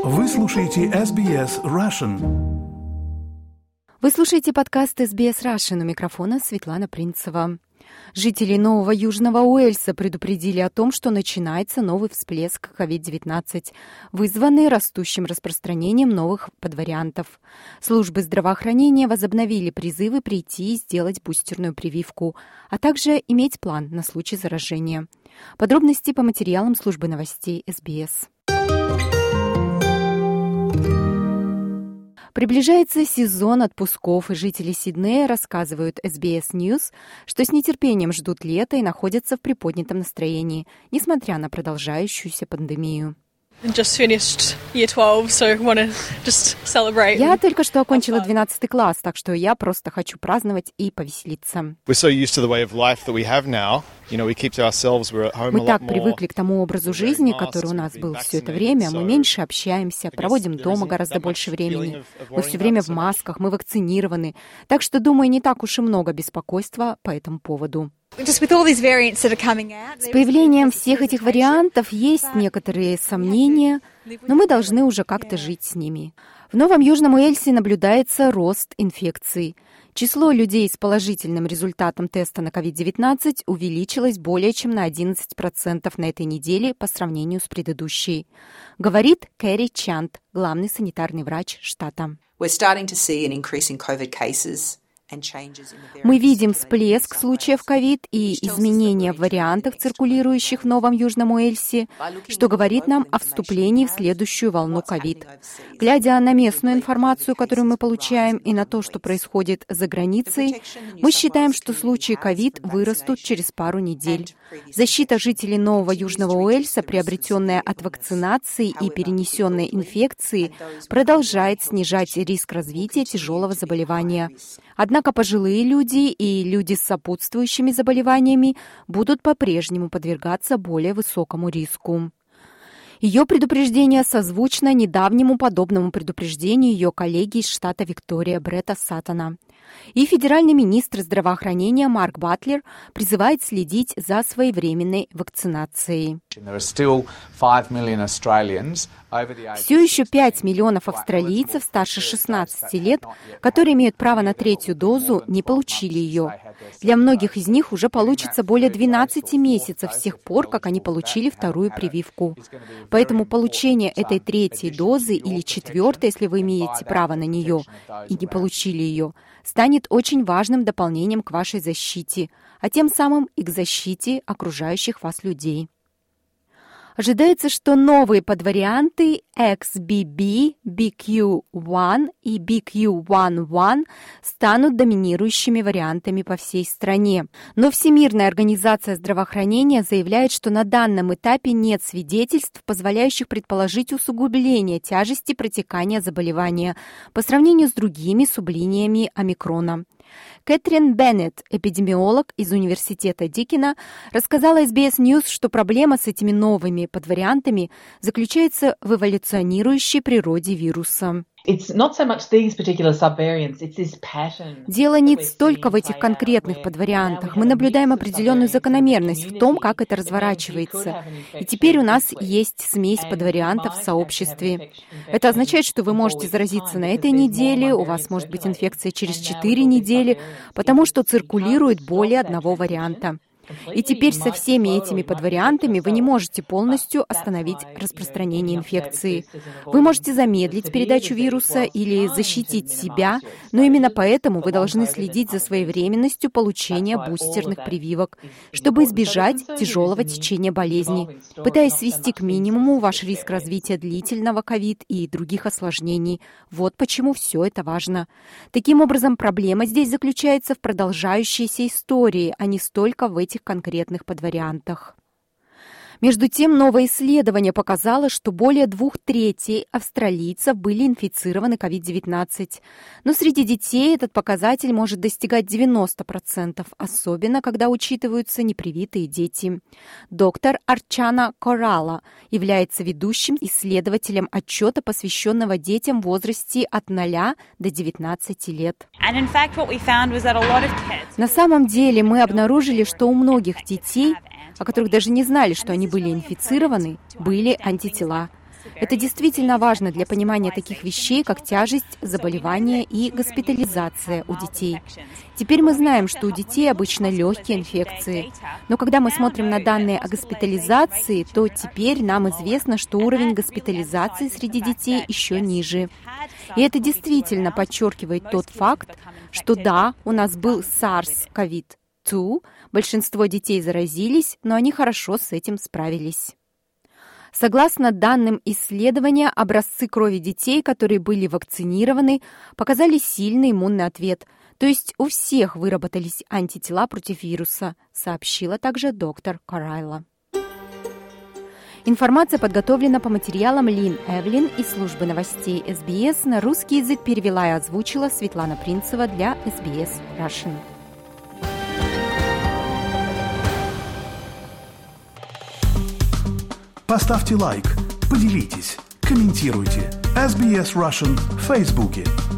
Вы слушаете SBS Russian. Вы слушаете подкаст SBS Russian. У микрофона Светлана Принцева. Жители Нового Южного Уэльса предупредили о том, что начинается новый всплеск COVID-19, вызванный растущим распространением новых подвариантов. Службы здравоохранения возобновили призывы прийти и сделать бустерную прививку, а также иметь план на случай заражения. Подробности по материалам службы новостей SBS. Приближается сезон отпусков, и жители Сиднея рассказывают SBS News, что с нетерпением ждут лета и находятся в приподнятом настроении, несмотря на продолжающуюся пандемию. Я только что окончила 12 класс, так что я просто хочу праздновать и повеселиться. Мы так привыкли к тому образу жизни, который у нас был все это время. Мы меньше общаемся, проводим дома гораздо больше времени. Мы все время в масках, мы вакцинированы. Так что, думаю, не так уж и много беспокойства по этому поводу. С появлением всех этих вариантов есть некоторые сомнения, но мы должны уже как-то жить с ними. В Новом Южном Уэльсе наблюдается рост инфекций. Число людей с положительным результатом теста на COVID-19 увеличилось более чем на 11% на этой неделе по сравнению с предыдущей, говорит Кэрри Чант, главный санитарный врач штата. Мы видим всплеск случаев ковид и изменения в вариантах, циркулирующих в Новом Южном Уэльсе, что говорит нам о вступлении в следующую волну ковид. Глядя на местную информацию, которую мы получаем, и на то, что происходит за границей, мы считаем, что случаи ковид вырастут через пару недель. Защита жителей Нового Южного Уэльса, приобретенная от вакцинации и перенесенной инфекции, продолжает снижать риск развития тяжелого заболевания. Однако пожилые люди и люди с сопутствующими заболеваниями будут по-прежнему подвергаться более высокому риску. Ее предупреждение созвучно недавнему подобному предупреждению ее коллеги из штата Виктория Бретта Саттона. И федеральный министр здравоохранения Марк Батлер призывает следить за своевременной вакцинацией. Все еще 5 миллионов австралийцев старше 16 лет, которые имеют право на третью дозу, не получили ее. Для многих из них уже получится более 12 месяцев с тех пор, как они получили вторую прививку. Поэтому получение этой третьей дозы или четвертой, если вы имеете право на нее и не получили ее, станет очень важным дополнением к вашей защите, а тем самым и к защите окружающих вас людей. Ожидается, что новые подварианты XBB, BQ1 и BQ11 станут доминирующими вариантами по всей стране. Но Всемирная организация здравоохранения заявляет, что на данном этапе нет свидетельств, позволяющих предположить усугубление тяжести протекания заболевания по сравнению с другими сублиниями омикрона. Кэтрин Беннет, эпидемиолог из университета Дикина, рассказала SBS News, что проблема с этими новыми подвариантами заключается в эволюционирующей природе вируса. Дело не столько в этих конкретных подвариантах. Мы наблюдаем определенную закономерность в том, как это разворачивается. И теперь у нас есть смесь подвариантов в сообществе. Это означает, что вы можете заразиться на этой неделе, у вас может быть инфекция через 4 недели, потому что циркулирует более одного варианта. И теперь со всеми этими подвариантами вы не можете полностью остановить распространение инфекции. Вы можете замедлить передачу вируса или защитить себя, но именно поэтому вы должны следить за своевременностью получения бустерных прививок, чтобы избежать тяжелого течения болезни, пытаясь свести к минимуму ваш риск развития длительного ковид и других осложнений. Вот почему все это важно. Таким образом, проблема здесь заключается в продолжающейся истории, а не столько в этих конкретных подвариантах. Между тем, новое исследование показало, что более 2/3 австралийцев были инфицированы COVID-19. Но среди детей этот показатель может достигать 90%, особенно когда учитываются непривитые дети. Доктор Арчана Коралла является ведущим исследователем отчета, посвященного детям в возрасте от 0 до 19 лет. На самом деле мы обнаружили, что у многих детей, о которых даже не знали, что они были инфицированы, были антитела. Это действительно важно для понимания таких вещей, как тяжесть заболевания и госпитализация у детей. Теперь мы знаем, что у детей обычно легкие инфекции. Но когда мы смотрим на данные о госпитализации, то теперь нам известно, что уровень госпитализации среди детей еще ниже. И это подчеркивает тот факт, что да, у нас был SARS-CoV-2, большинство детей заразились, но они хорошо с этим справились. Согласно данным исследования, образцы крови детей, которые были вакцинированы, показали сильный иммунный ответ, то есть у всех выработались антитела против вируса, сообщила также доктор Карайла. Информация подготовлена по материалам Лин Эвелин из службы новостей СБС. На русский язык перевела и озвучила Светлана Принцева для SBS Russian. Поставьте лайк, поделитесь, комментируйте. SBS Russian в Фейсбуке.